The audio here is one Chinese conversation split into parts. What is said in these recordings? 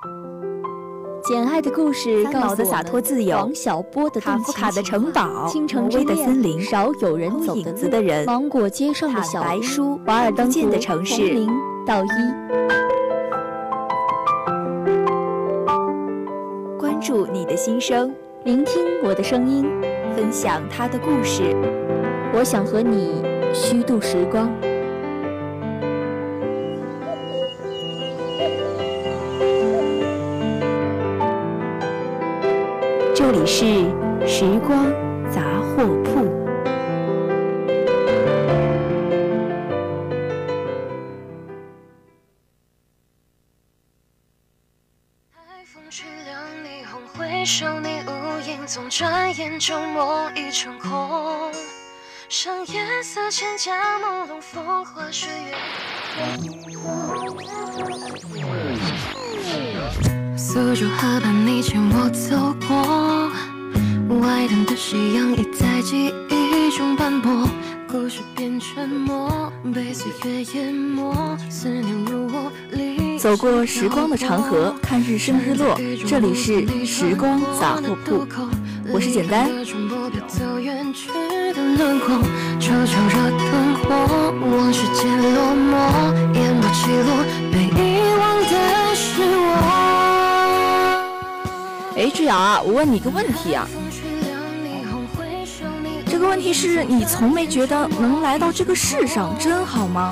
简爱的故事告诉我们， 的洒脱自由， 王小波的卡夫卡的城堡， 倾城之恋的森林， 少有人走的人， 芒果街上的小白书， 瓦尔登湖的城市， 从零到一。 关注你的心声， 聆听我的声音， 分享他的故事。 我想和你虚度时光。 这里是时光杂货铺。 海风吹亮霓虹，回首你无影踪，转眼就梦已成空。上夜色千家朦胧，风花雪月。苏州河畔，你牵我走过，外滩的夕阳已在记忆中斑驳，故事变沉默，被岁月淹没，思念如我离。 走过时光的长河，看日升日落，这里是时光杂货铺，我是简单。 走远去的轮廓，悄悄热灯火，往事渐落寞，淹没记录被遗忘的是我。 哎，志瑶啊，我问你一个问题啊，这个问题是你从没觉得能来到这个世上真好吗？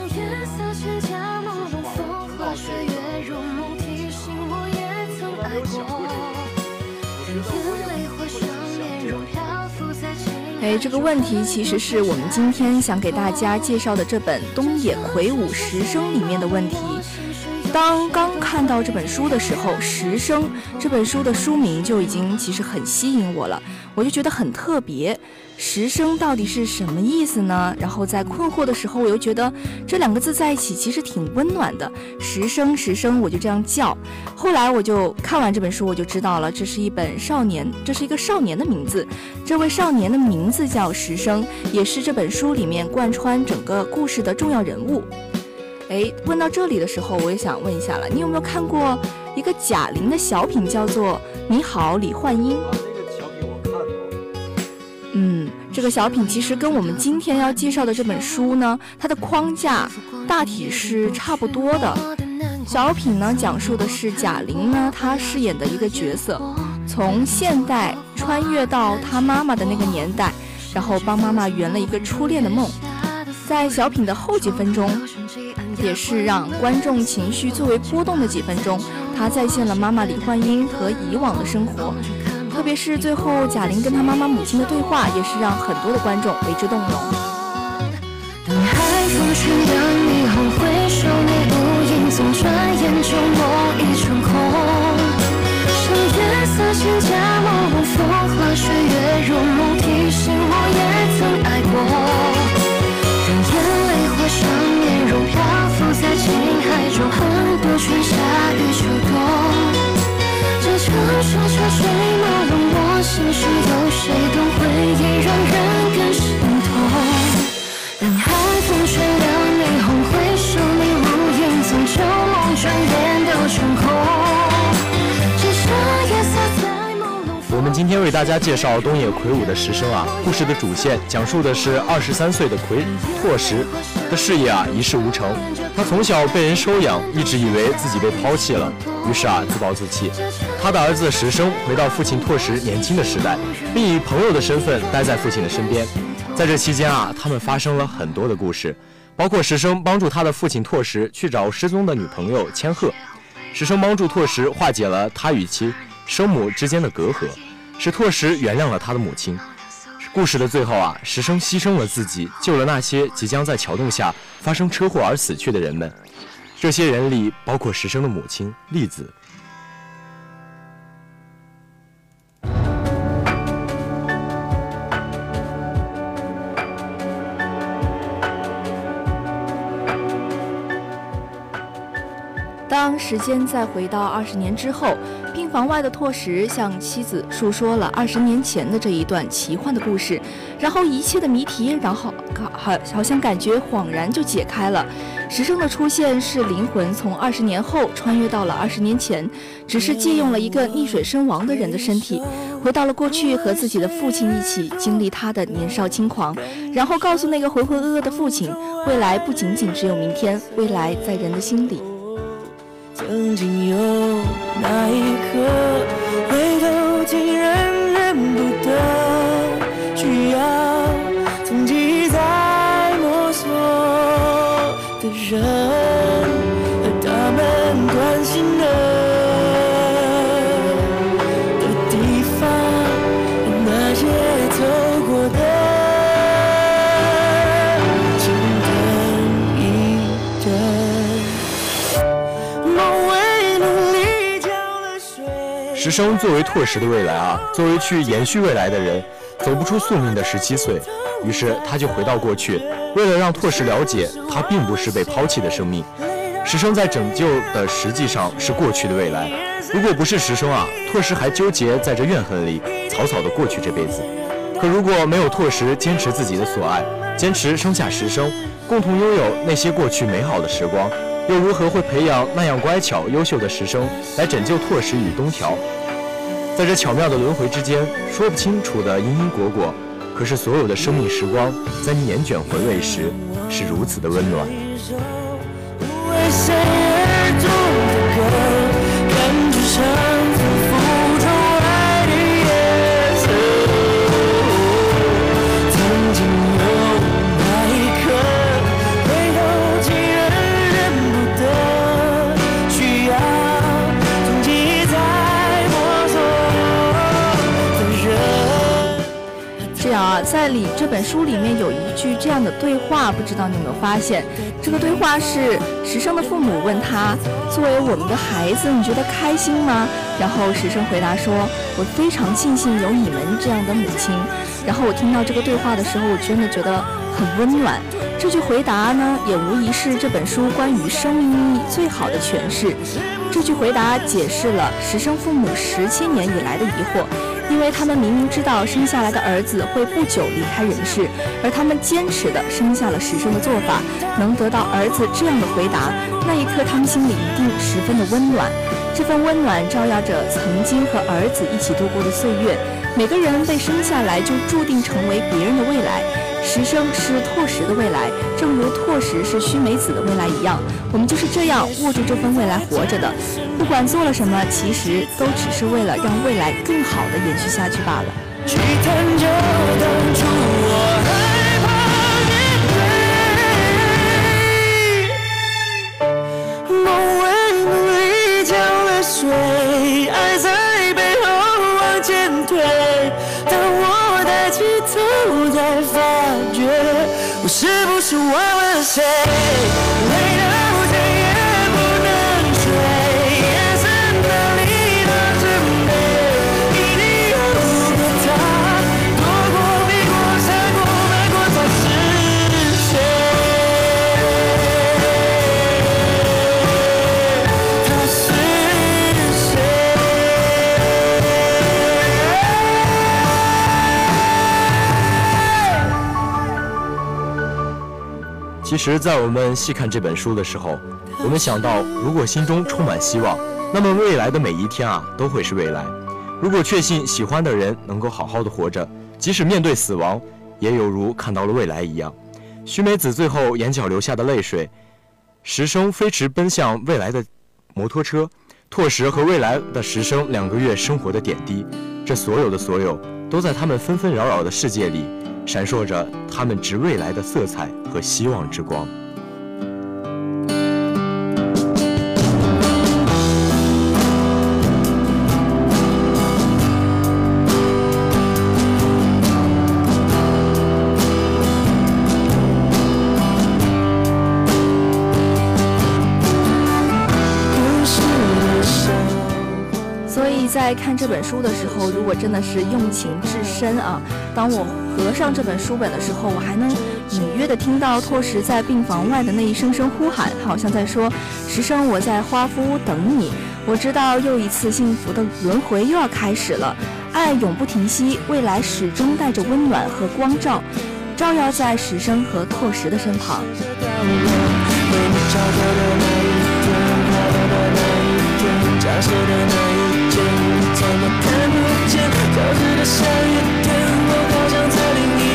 哎，这个问题其实是我们今天想给大家介绍的这本东野圭吾《时生》里面的问题。当刚看到这本书的时候，《时生》这本书的书名就已经其实很吸引我了，我就觉得很特别。时生到底是什么意思呢？然后在困惑的时候，我又觉得这两个字在一起其实挺温暖的。时生，时生，我就这样叫。后来我就看完这本书，我就知道了，这是一个少年的名字。这位少年的名字叫时生，也是这本书里面贯穿整个故事的重要人物。哎，问到这里的时候，我也想问一下了，你有没有看过一个贾玲的小品，叫做《你好，李焕英》？ 那个小品我看过。 这个小品其实跟我们今天要介绍的这本书呢，它的框架大体是差不多的。小品呢，讲述的是贾玲呢，她饰演的一个角色，从现代穿越到她妈妈的那个年代，然后帮妈妈圆了一个初恋的梦。在小品的后几分钟，也是让观众情绪最为波动的几分钟，他再现了妈妈李焕英和以往的生活，特别是最后贾玲跟她妈妈母亲的对话，也是让很多的观众为之动容。 当海风吹亮霓虹，回首你无影踪，转眼就梦已成空。上夜色千家朦胧，风花雪月如梦，提醒我也曾爱过。让眼泪化上面容，漂浮在情海中，很多春夏与秋冬。这场沙沙水马龙，我心事有谁懂？回忆让人更心痛。当海风吹亮霓虹，回首你无影踪，旧梦转眼都成空。只剩夜色在朦胧。 我们今天为大家介绍东野圭吾的《时生》啊，故事的主线讲述的是23岁的拓实的事业啊一事无成。他从小被人收养，一直以为自己被抛弃了，于是啊自暴自弃。他的儿子时生回到父亲拓实年轻的时代，并以朋友的身份待在父亲的身边。在这期间啊，他们发生了很多的故事，包括时生帮助他的父亲拓实去找失踪的女朋友千鹤，时生帮助拓实化解了他与其生母之间的隔阂，使拓实原谅了他的母亲。故事的最后啊，时生牺牲了自己，救了那些即将在桥洞下发生车祸而死去的人们。这些人里包括时生的母亲栗子。 当时间再回到20年之后，病房外的拓实向妻子述说了20年前的这一段奇幻的故事，然后一切的谜题，然后好像感觉恍然就解开了。 石生的出现是灵魂从20年后穿越到了20年前，只是借用了一个溺水身亡的人的身体，回到了过去，和自己的父亲一起经历他的年少轻狂，然后告诉那个浑浑噩噩的父亲，未来不仅仅只有明天，未来在人的心里。 曾经有那一刻，回头竟然认不得，需要从记忆在摸索的人和他们关心的地方，那些走过的，请等一等。梦为努力浇了水。 石生作为拓实的未来啊，作为去延续未来的人，走不出宿命的17岁，于是他就回到过去，为了让拓实了解他并不是被抛弃的生命。石生在拯救的实际上是过去的未来，如果不是石生啊，拓实还纠结在这怨恨里，草草的过去这辈子。可如果没有拓实坚持自己的所爱，坚持生下石生，共同拥有那些过去美好的时光，又如何会培养那样乖巧优秀的石生来拯救拓实与东条？在这巧妙的轮回之间，说不清楚的因因果果，可是所有的生命时光在你年卷回味时是如此的温暖。 为谁而读的歌，感觉像仿佛中爱的颜色。曾经有那一刻，回头竟然认不得，需要从记忆在摸索的人。 这样啊，在这本书里面有一句这样的对话，不知道你有没有发现？这个对话是石生的父母问他，作为我们的孩子，你觉得开心吗？然后石生回答说，我非常庆幸有你们这样的母亲。然后我听到这个对话的时候，我真的觉得很温暖。这句回答呢，也无疑是这本书关于生命意义最好的诠释。这句回答解释了石生父母17年以来的疑惑，因为他们明明知道生下来的儿子会不久离开人世，而他们坚持的生下了石生的做法，能得到儿子这样的回答，那一刻他们心里一定十分的温暖。这份温暖照耀着曾经和儿子一起度过的岁月。每个人被生下来就注定成为别人的未来，石生是拓实的未来，正如拓实是须美子的未来一样，我们就是这样握住这份未来活着的。不管做了什么，其实都只是为了让未来更好的延续下去罢了。 去探究当初我害怕面对，梦为努力浇了水，爱在背后往前推。当我抬起头，才发觉我是不是忘了谁？累到再也不能睡，眼神哪里的准备，一定有个他，躲过避过闪过瞒过，他是谁？他是谁？ 其实在我们细看这本书的时候，我们想到如果心中充满希望，那么未来的每一天啊都会是未来。如果确信喜欢的人能够好好的活着，即使面对死亡也有如看到了未来一样。须美子最后眼角流下的泪水，石生飞驰奔向未来的摩托车，拓实和未来的石生2个月生活的点滴，这所有的所有都在他们纷纷扰扰的世界里闪烁着他们值未来的色彩和希望之光。 在看这本书的时候，如果真的是用情至深啊，当我合上这本书本的时候，我还能隐约的听到拓实在病房外的那一声声呼喊，好像在说：石生，我在花夫屋等你。我知道又一次幸福的轮回又要开始了，爱永不停息，未来始终带着温暖和光照，照耀在石生和拓实的身旁。 找到的那一天，快乐的那一天，假设的那一天，怎么看不见？消失的下一天，我好想在另一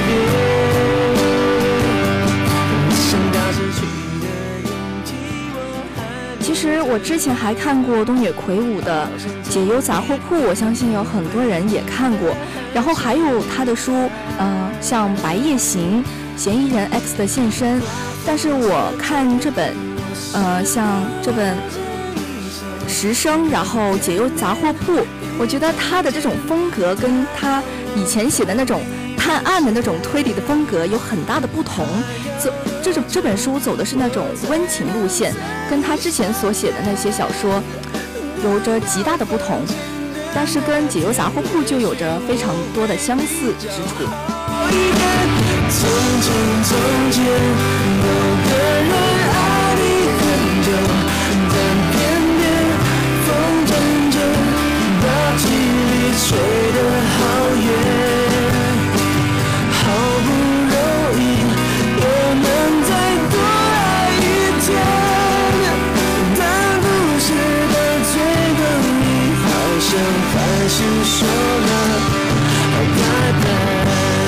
边。想到失去的勇气，我还。 其实我之前还看过东野圭吾的《解忧杂货铺》，我相信有很多人也看过。然后还有他的书，像《白夜行》《嫌疑人 X 的现身》。但是我看这本，像这本《时生》，然后《解忧杂货铺》，我觉得他的这种风格跟他以前写的那种探案的那种推理的风格有很大的不同。这本书走的是那种温情路线，跟他之前所写的那些小说有着极大的不同，但是跟《解忧杂货铺》就有着非常多的相似之处。 从前从前有个人爱你很久，但偏偏风筝就把距离吹得好远，好不容易又能再多爱一天，但故事的最后你好像还是说了拜拜。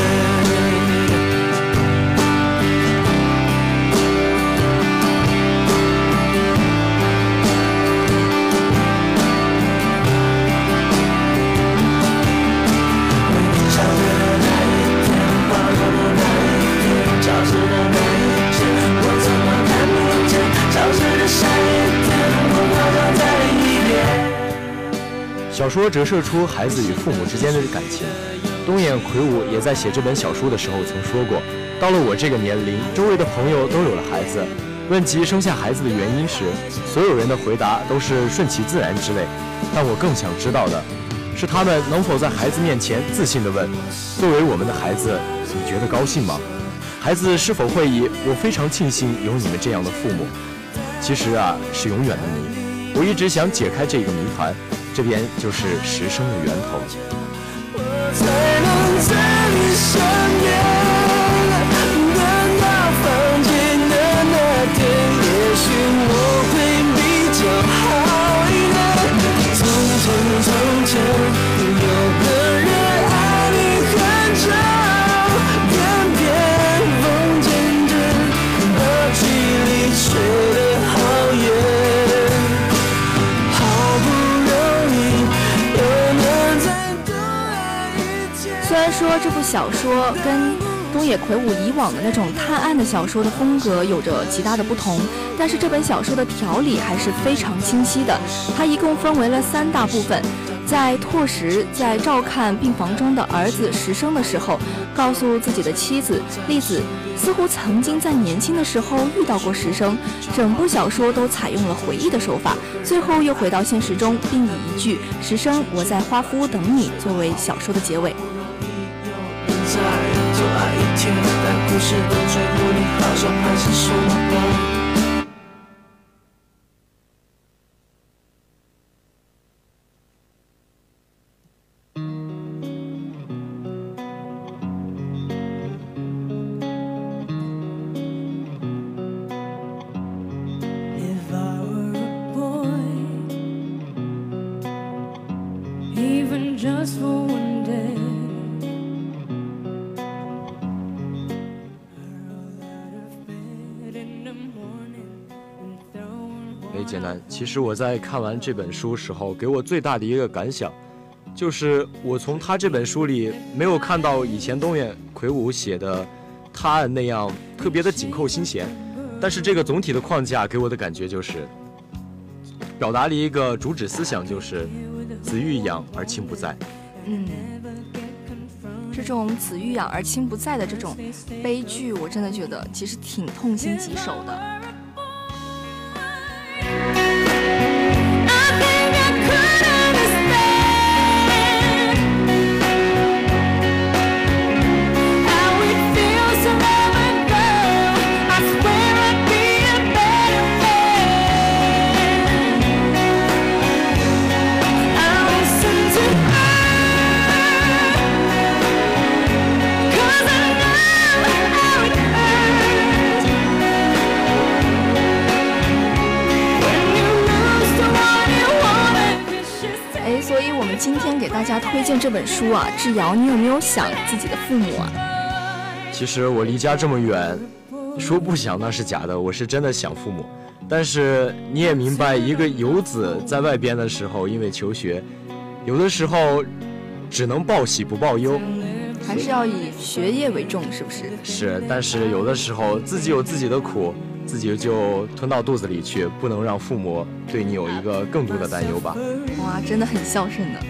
小说折射出孩子与父母之间的感情。东野圭吾也在写这本小说的时候曾说过，到了我这个年龄，周围的朋友都有了孩子，问及生下孩子的原因时，所有人的回答都是顺其自然之类。但我更想知道的是，他们能否在孩子面前自信地问，作为我们的孩子，你觉得高兴吗？孩子是否会以我非常庆幸有你们这样的父母，其实啊是永远的谜。我一直想解开这个谜团，这边就是时生的源头。 我才能在你身边，等到放晴的那天，也许我会比较好一点。从前从前有个人爱你很久，偏偏风渐渐把距离吹得好远，好不容易又能再多爱一天。 虽然说这部小说跟东野圭吾以往的那种探案的小说的风格有着极大的不同，但是这本小说的条理还是非常清晰的。它一共分为了3大部分。在拓实在照看病房中的儿子时生的时候，告诉自己的妻子栗子，似乎曾经在年轻的时候遇到过时生。整部小说都采用了回忆的手法，最后又回到现实中，并以一句“时生，我在花夫屋等你”作为小说的结尾。 再多爱一天，但故事的最后你好像还是说了吧。If I were a boy, even just for one day, 简单，其实我在看完这本书时候，给我最大的一个感想，就是我从他这本书里没有看到以前东野圭吾写的探案那样特别的紧扣心弦，但是这个总体的框架给我的感觉就是表达了一个主旨思想，就是子欲养而亲不在。 这种子欲养而亲不在的这种悲剧，我真的觉得其实挺痛心疾首的。 们今天给大家推荐这本书啊，志尧，你有没有想自己的父母啊？ 其实我离家这么远，说不想那是假的，我是真的想父母。但是你也明白，一个游子在外边的时候，因为求学，有的时候只能报喜不报忧， 还是要以学业为重，是不是？ 是，但是有的时候自己有自己的苦，自己就吞到肚子里去，不能让父母对你有一个更多的担忧吧。 哇，真的很孝顺的。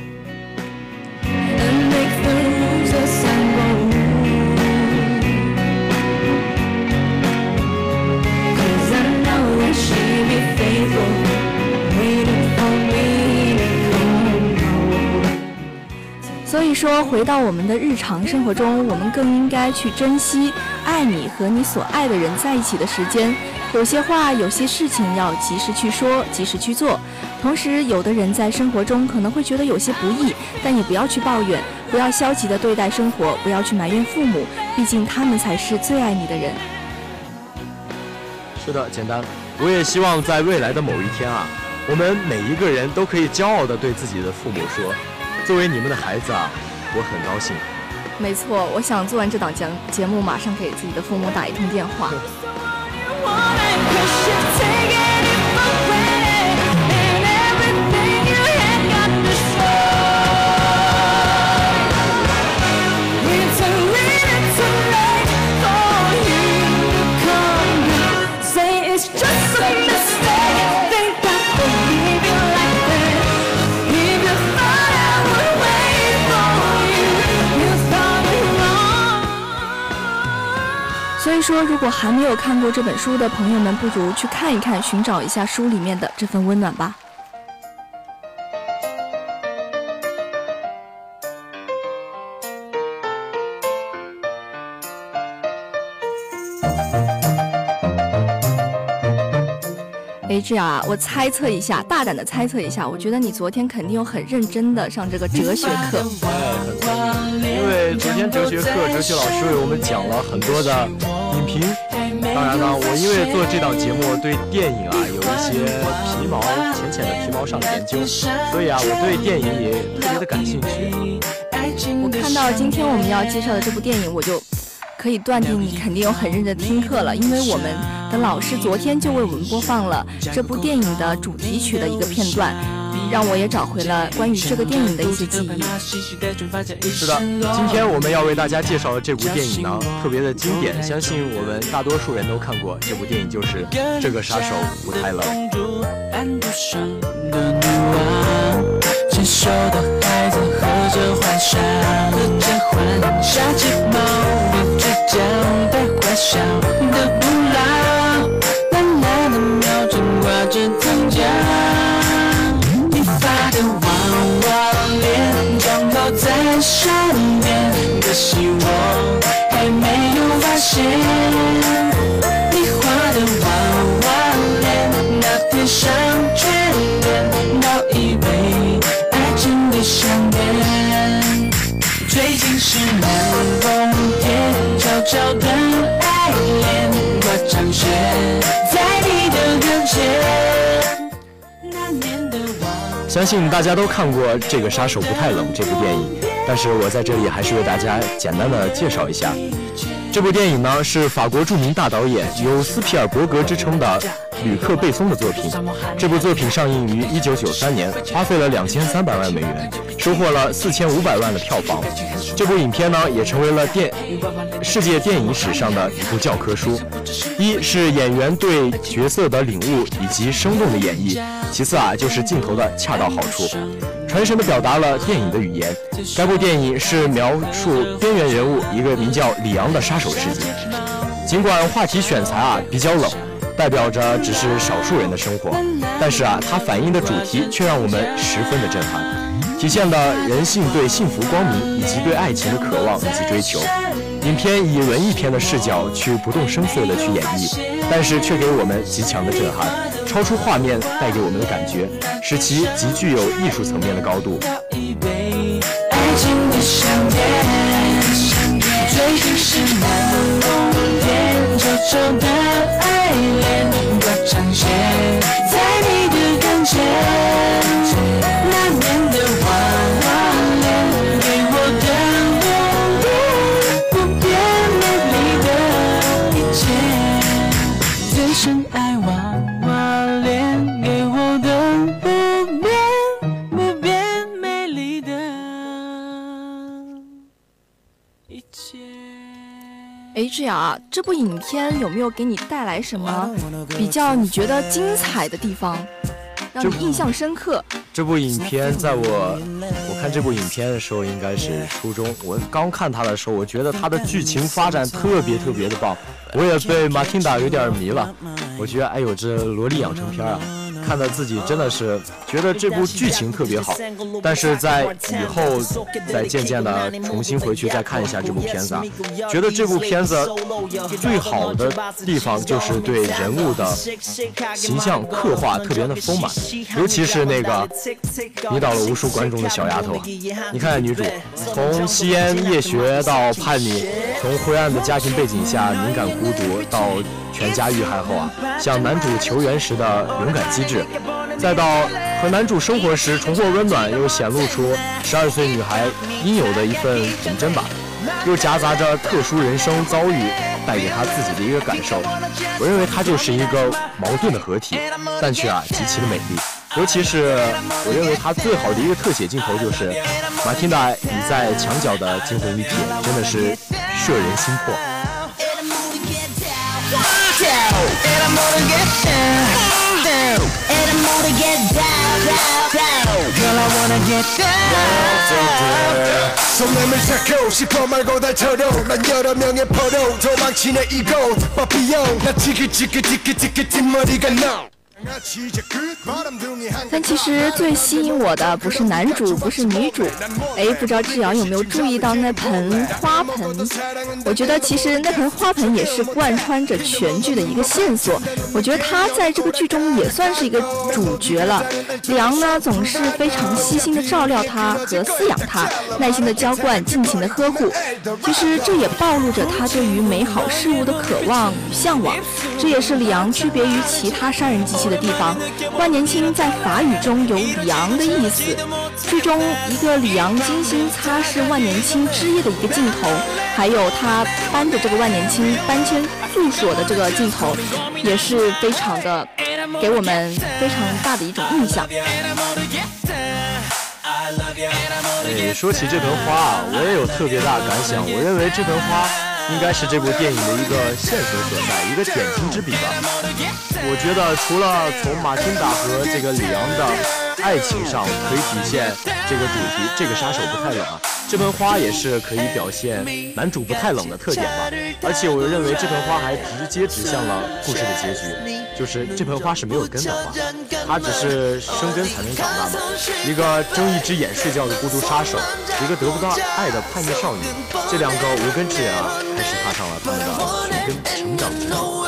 所以说，回到我们的日常生活中，我们更应该去珍惜爱你和你所爱的人在一起的时间。有些话，有些事情要及时去说，及时去做。同时，有的人在生活中可能会觉得有些不易，但也不要去抱怨，不要消极的对待生活，不要去埋怨父母，毕竟他们才是最爱你的人。 是的，简单。我也希望在未来的某一天啊，我们每一个人都可以骄傲地对自己的父母说，作为你们的孩子啊，我很高兴。 没错，我想做完这档节目，马上给自己的父母打一通电话。所以说，如果还没有看过这本书的朋友们，不如去看一看，寻找一下书里面的这份温暖吧。志尧啊，我猜测一下，大胆的猜测一下，我觉得你昨天肯定有很认真的上这个哲学课。 很聪明，因为昨天哲学课，哲学老师为我们讲了很多的影评。当然呢，我因为做这档节目，对电影啊有一些浅浅的皮毛上的研究，所以啊，我对电影也特别的感兴趣。 我看到今天我们要介绍的这部电影，我就可以断定你肯定有很认真听课了，因为我们的老师昨天就为我们播放了这部电影的主题曲的一个片段，让我也找回了关于这个电影的一些记忆。 是的，今天我们要为大家介绍的这部电影呢，特别的经典，相信我们大多数人都看过。这部电影就是《这个杀手不太冷》。 牵手的孩子喝着幻想，下睫毛与嘴角带坏笑的不老，懒懒的秒针挂着糖浆，你发的娃娃脸装抱在身边，可惜我还没有发现，你画的娃娃脸那天上全脸到以为相恋，最近是南风天，悄悄的爱恋，我常学在你的跟前。那年的我， 相信大家都看过《这个杀手不太冷》这部电影，但是我在这里还是为大家简单的介绍一下。这部电影呢是法国著名大导演有斯皮尔伯格之称的吕克·贝松的作品。这部作品上映于1993年，花费了2300万美元，收获了4500万的票房。这部影片呢也成为了世界电影史上的一部教科书。一是演员对角色的领悟以及生动的演绎，其次啊就是镜头的恰到好处，传神地表达了电影的语言。该部电影是描述边缘人物一个名叫里昂的杀手事件。尽管话题选材啊比较冷，代表着只是少数人的生活，但是啊它反映的主题却让我们十分的震撼，体现了人性对幸福光明以及对爱情的渴望以及追求。影片以文艺片的视角去不动声色地去演绎，但是却给我们极强的震撼，超出画面带给我们的感觉，使其极具有艺术层面的高度。 爱情的相恋，最近是南风天，悄悄的爱恋，我常写在你的跟前。那年的我志尧啊，这部影片有没有给你带来什么比较你觉得精彩的地方，让你印象深刻？ 这部影片在我看这部影片的时候应该是初中，我刚看它的时候，我觉得它的剧情发展特别的棒，我也被马汀达有点迷了。我觉得哎呦，这萝莉养成片啊，看得自己真的是觉得这部剧情特别好，但是在以后再渐渐的重新回去再看一下这部片子啊，觉得这部片子最好的地方就是对人物的形象刻画特别的丰满，尤其是那个迷倒了无数观众的小丫头啊！你看女主从吸烟夜学到叛逆，从灰暗的家庭背景下敏感孤独到全家遇害后啊，向男主求援时的勇敢机智，再到和男主生活时重获温暖，又显露出12岁女孩应有的一份童真吧，又夹杂着特殊人生遭遇带给她自己的一个感受。我认为它就是一个矛盾的合体，但却极其的美丽。尤其是我认为它最好的一个特写镜头就是马汀达倚在墙角的惊鸿一瞥，真的是摄人心魄。 손님을 찾고 싶어 말고 달처럼 난 여러 명의 포로 도망치네 이곳 바비용 나 지긋지긋 뒷머리가 너。 但其实最吸引我的不是男主，不是女主，不知道志尧有没有注意到那盆花盆？我觉得其实那盆花盆也是贯穿着全剧的一个线索。我觉得他在这个剧中也算是一个主角了。李昂呢，总是非常细心的照料他和饲养他，耐心的浇灌，尽情的呵护。其实这也暴露着他对于美好事物的渴望与向往，这也是李昂区别于其他杀人机器的地方。万年青在法语中有李昂的意思，剧中一个李昂精心擦拭万年青汁液的一个镜头，还有他搬着这个万年青搬迁住所的这个镜头，也是非常的给我们非常大的一种印象。 说起这盆花啊，我也有特别大的感想。我认为这盆花应该是这部电影的一个线索所在，一个点睛之笔吧。我觉得除了从马汀达和这个里昂的爱情上可以体现这个主题，这个杀手不太冷啊，这盆花也是可以表现男主不太冷的特点吧。而且我认为这盆花还直接指向了故事的结局，就是这盆花是没有根的花，它只是生根才能长大嘛。一个睁一只眼睡觉的孤独杀手，一个得不到爱的叛逆少女，这两个无根之人啊，开始踏上了他们的寻根成长之路。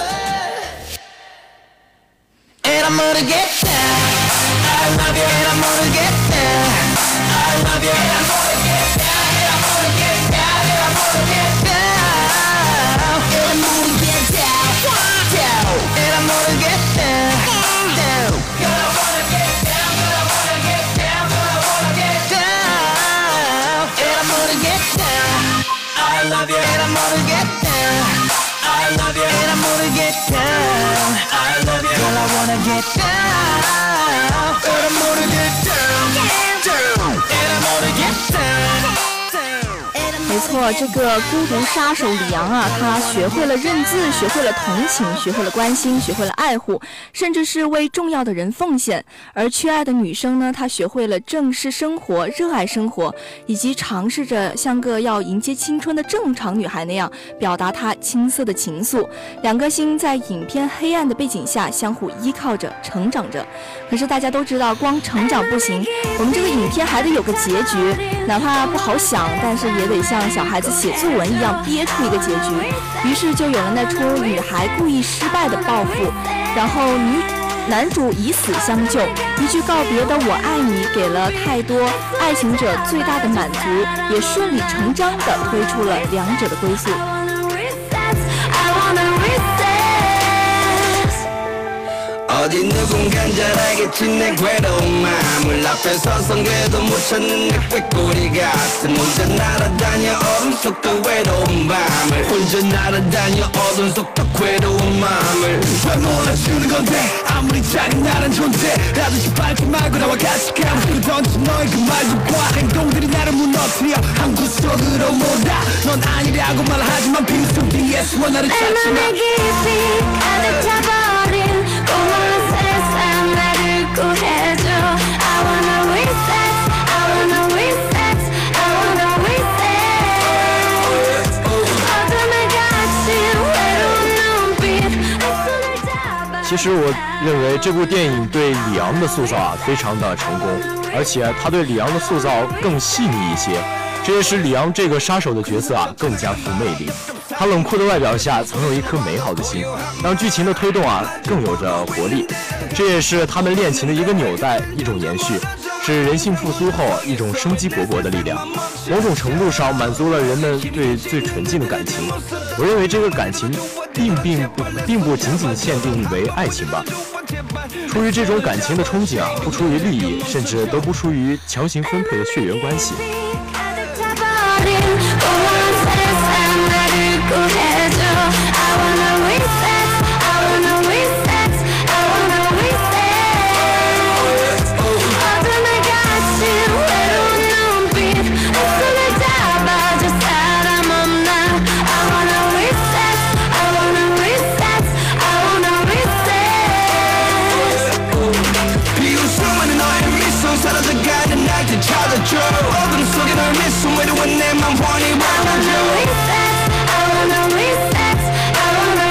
And I'm gonna get down. I love you. And I'm gonna get down. I love you. And I'm gonna get down. And I'm gonna get down. And I'm gonna get down. And I'm gonna get down. Down. And I'm gonna get down. Down. Cause I wanna get down. Cause I wanna get down. Cause I wanna get down. And I'm gonna get down. I love you. And I'm gonna get down. I love you. And I'm gonna get down. I love you. Girl, I wanna get down. And I'm gonna get down. Down. And I'm gonna get down. 没错，这个孤独杀手李昂啊，他学会了认字，学会了同情，学会了关心，学会了爱护，甚至是为重要的人奉献。而缺爱的女生呢，她学会了正视生活，热爱生活，以及尝试着像个要迎接青春的正常女孩那样表达她青涩的情愫。两颗心在影片黑暗的背景下相互依靠着成长着。可是大家都知道，光成长不行，我们这个影片还得有个结局，哪怕不好想，但是也得像小孩子写作文一样憋出一个结局。于是就有了那出女孩故意失败的报复，然后男主以死相救，一句告别的我爱你给了太多爱情者最大的满足，也顺理成章地推出了两者的归宿。 어디 누군간 잘 알겠지 내 괴로운 마음을 앞에 서성괴도 못 찾는 내 꾀꼬리 같은 혼자 날아다녀 얼음 속도 외로운 밤을 혼자 날아다녀 어둠 속도 괴로운 마음을 왜 몰라주는 건데 아무리 작은 나란 존재 라듯이 밟지 말고 나와 같이 가고 던진 너의 그 말과 행동들이 나를 무너뜨려 한 구석으로 몰아 넌 아니라고 말하지만 빈손 뒤에서 나를 찾지마 내 깊이 가득 차버린 고마운 세상 나를 구해줘 I wanna reset I wanna reset I wanna reset 어둠에 갇힌 외로운 눈빛 내 손을 잡아 其实我认为这部电影对李昂的塑造啊非常的成功，而且他对李昂的塑造更细腻一些，这也使李昂这个杀手的角色啊更加富魅力。他冷酷的外表下曾有一颗美好的心，让剧情的推动啊更有着活力。这也是他们恋情的一个纽带，一种延续，是人性复苏后一种生机勃勃的力量。某种程度上满足了人们对最纯净的感情。我认为这个感情并不仅仅限定为爱情吧。出于这种感情的憧憬啊，不出于利益，甚至都不出于强行分配的血缘关系。 어둠 속에 널 미소 외로운 내 맘 환히 바라줘 I wanna reset I wanna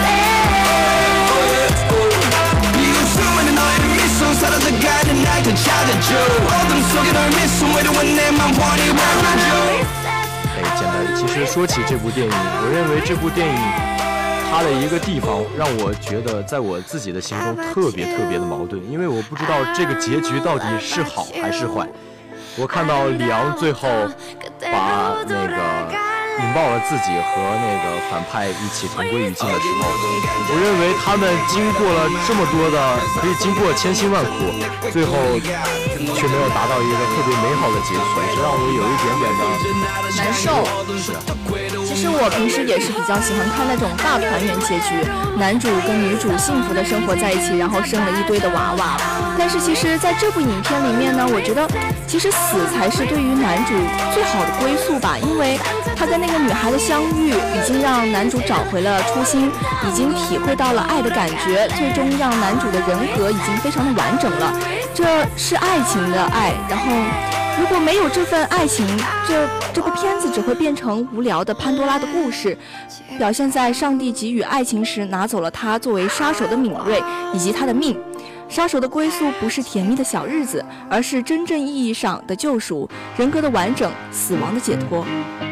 reset 비웃음 수많은 너의 미소 사라져가는 날 더 찾아줘 어둠 속에 널 미소 외로운 내 맘 환히 바라줘 简单，其实说起这部电影，我认为这部电影它的一个地方让我觉得在我自己的心中特别的矛盾，因为我不知道这个结局到底是好还是坏。我看到李昂最后把那个引爆了自己和那个反派一起同归于尽的时候，我认为他们经过了这么多的，可以经过千辛万苦，最后却没有达到一个特别美好的结局，这让我有一点点的难受。其实我平时也是比较喜欢看那种大团圆结局，男主跟女主幸福的生活在一起，然后生了一堆的娃娃。但是其实在这部影片里面呢，我觉得其实死才是对于男主最好的归宿吧，因为他跟那个女孩的相遇已经让男主找回了初心，已经体会到了爱的感觉，最终让男主的人格已经非常的完整了，这是爱情的爱。然后如果没有这份爱情，这部片子只会变成无聊的潘多拉的故事，表现在上帝给予爱情时拿走了他作为杀手的敏锐以及他的命。杀手的归宿不是甜蜜的小日子，而是真正意义上的救赎，人格的完整，死亡的解脱。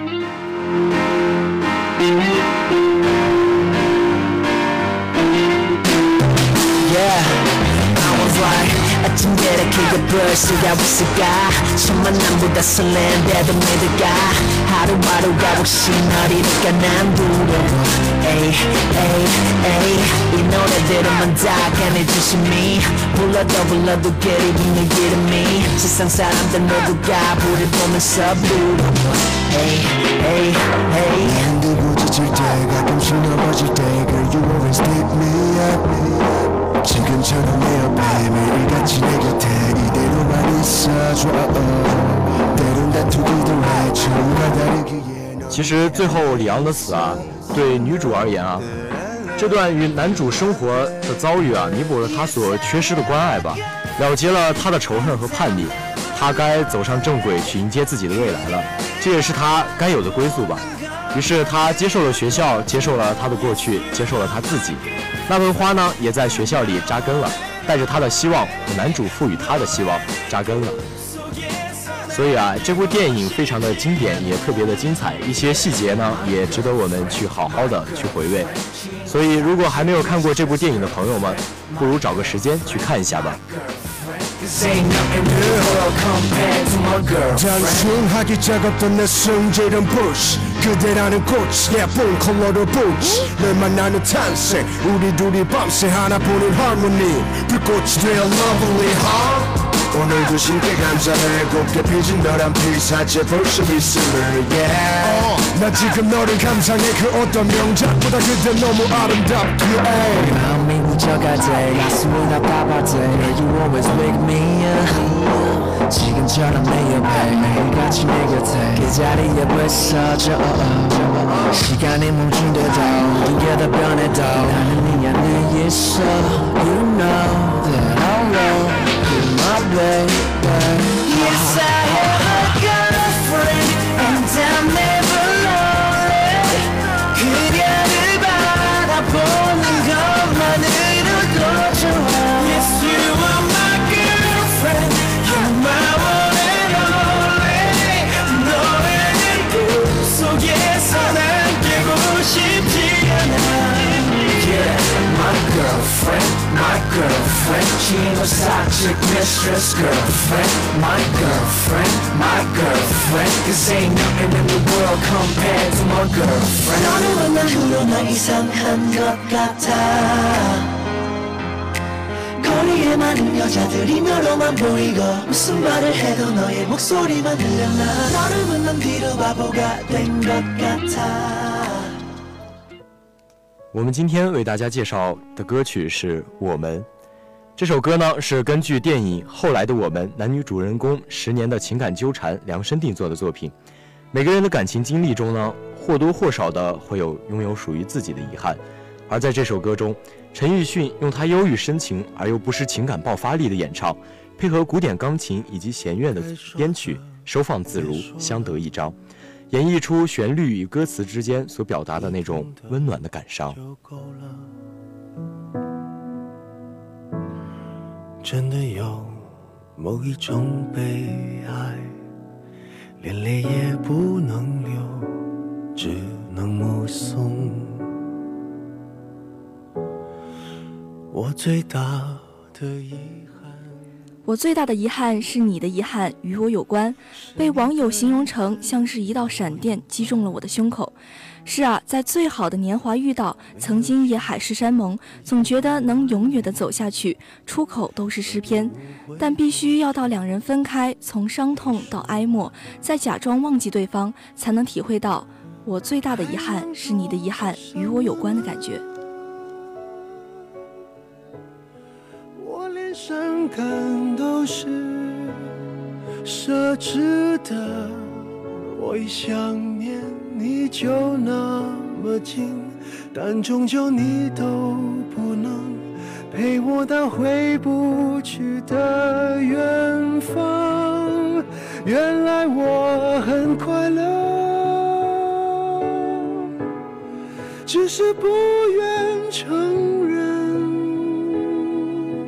아침 계획해 벌써가 있을까 천만 남보다 설렌데도 믿을까 하루하루가 혹시 너리니까 난 두려워 에이 이 노래들은만 다 강해주심이 불러도 게으르는 이름이 세상 사람들 모두가 불을 보면서 부러워 에이 흔들고 지칠 때 가끔씩 넘어질 때 Girl you always pick me up 지금처럼 내 옆에 매일같이 내 곁에 이대로만 있어줘 때론 다투기도 해 처음과 다르기에 其实最后李昂的死啊，对女主而言啊，这段与男主生活的遭遇啊，弥补了他所缺失的关爱吧，了结了他的仇恨和叛逆，他该走上正轨去迎接自己的未来了，这也是他该有的归宿吧。于是他接受了学校，接受了他的过去，接受了他自己。那盆花呢，也在学校里扎根了，带着他的希望和男主赋予他的希望扎根了。所以啊，这部电影非常的经典，也特别的精彩，一些细节呢也值得我们去好好的去回味。所以如果还没有看过这部電影的朋友们，不如找个时间去看一下吧。 단순하기 작업던 내 성질은 push 그대라는 꽃 예쁜 컬러를 보지 널 만나는 탄생 우리 둘이 밤새 하나뿐인 harmony 불꽃이 되어 lovely 오늘도 신께 감사해 곱게 피진 너란 피사체 벌써 미스를 yeah 나 지금 너를 감상해 그 어떤 명작보다 그대 너무 아름답기에 마음이 묻혀갈 때 가슴이 아파할 때 You always wake me up 지금처럼 내 옆에 매일같이 내 곁에 그 자리에 벌써져 시간이 멈춘데도 두개 다 변해도 나는 네 안에 있어 You know that I'll roll with my baby Yes, I have a girlfriend and I'm never lonely 그녀를 바라보는 것만으로도 좋아 Yes, you are my girlfriend You're my one and only 너의 꿈속에서 난 깨고 싶지 않아 Yeah, my girlfriend She ain't no side chick, mistress girlfriend My girlfriend Cause ain't nothing in the world compared to my girlfriend 너를 만난 후로 나 이상한 것 같아 거리에 많은 여자들이 너로만 보이고 무슨 말을 해도 너의 목소리만 들려나 너를 만난 뒤로 바보가 된 것 같아 我们今天为大家介绍的歌曲是《我们》。这首歌呢是根据电影《后来的我们》男女主人公10年的情感纠缠量身定做的作品。每个人的感情经历中呢，或多或少的会拥有属于自己的遗憾。而在这首歌中，陈奕迅用他忧郁深情而又不失情感爆发力的演唱，配合古典钢琴以及弦乐的编曲，收放自如，相得益彰。演绎出旋律与歌词之间所表达的那种温暖的感伤。 真的有某一种悲哀，连泪也不能流，只能目送。我最大的遗憾， 我最大的遗憾是你的遗憾与我有关，被网友形容成像是一道闪电击中了我的胸口。是啊，在最好的年华遇到，曾经也海誓山盟，总觉得能永远的走下去，出口都是诗篇，但必须要到两人分开，从伤痛到哀莫，再假装忘记对方，才能体会到我最大的遗憾是你的遗憾与我有关的感觉。 我连伤感都是奢侈的，我一想念你就那么近，但终究你都不能陪我到回不去的远方。原来我很快乐，只是不愿承认。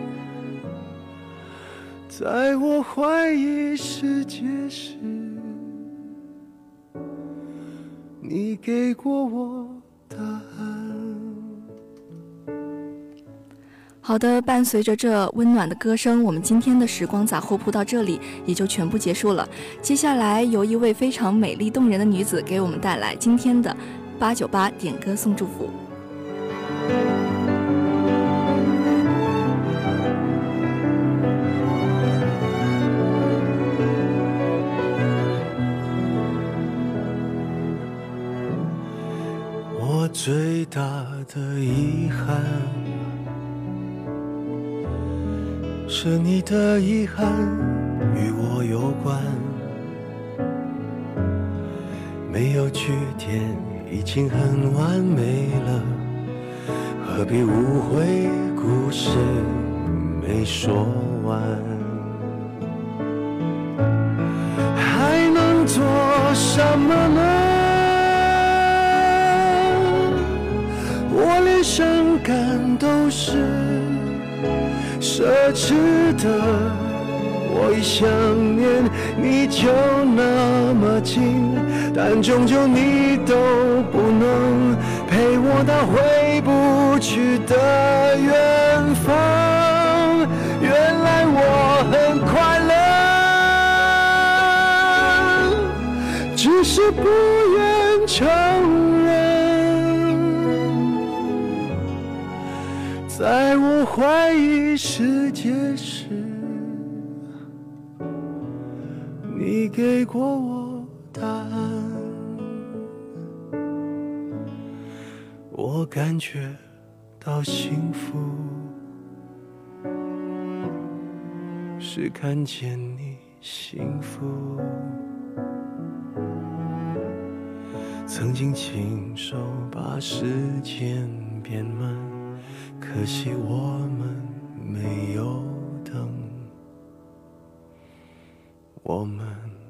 在我怀疑世界时，你给过我答案。 好的，伴随着这温暖的歌声，我们今天的时光杂货铺到这里也就全部结束了。接下来由一位非常美丽动人的女子给我们带来今天的898点歌送祝福。 我最大的遗憾是你的遗憾与我有关，没有句点已经很完美了，何必误会故事没说完，还能做什么呢？我连伤感都是奢侈的，我一想念你就那么近，但终究你都不能陪我到回不去的远方。原来我很快乐，只是不愿承认，在我怀疑世界时，你给过我答案。我感觉到幸福，是看见你幸福。曾经亲手把时间变慢，可惜我们没有等，我们